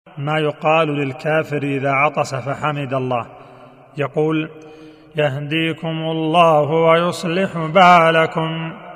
ما يقال للكافر إذا عطس فحمد الله، يقول: يهديكم الله ويصلح بالكم.